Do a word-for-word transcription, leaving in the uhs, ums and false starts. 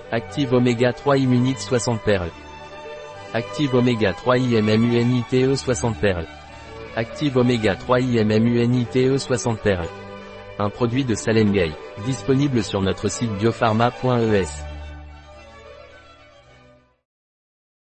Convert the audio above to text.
Active Oméga trois Immunite soixante perles. Active Oméga trois IMMUNITE soixante perles. Active Oméga trois IMMUNITE soixante perles. Un produit de Salengay, disponible sur notre site biopharma point e s.